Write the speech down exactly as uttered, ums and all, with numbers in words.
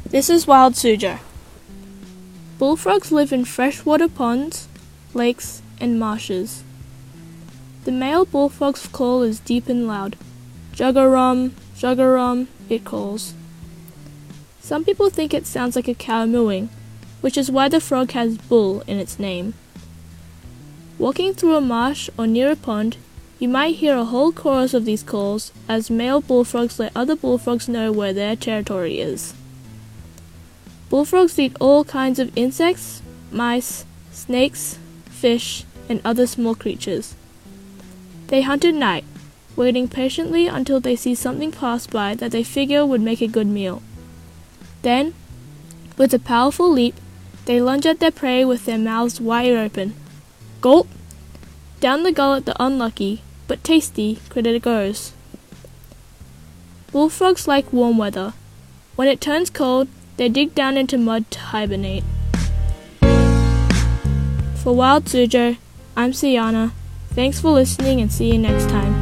This is Wild Suzhou. Bullfrogs live in freshwater ponds, lakes, and marshes. The male bullfrog's call is deep and loud. Juggarum, juggarum, it calls. Some people think it sounds like a cow mooing, which is why the frog has bull in its name. Walking through a marsh or near a pond, you might hear a whole chorus of these calls as male bullfrogs let other bullfrogs know where their territory is. Bullfrogs eat all kinds of insects, mice, snakes, fish, and other small creatures. They hunt at night, waiting patiently until they see something pass by that they figure would make a good meal. Then, with a powerful leap, they lunge at their prey with their mouths wide open. Gulp! Down the gullet the unlucky, but tasty, critter goes. Bullfrogs like warm weather. When it turns cold, they dig down into mud to hibernate. For Wild Suzhou, I'm Sienna. Thanks for listening and see you next time.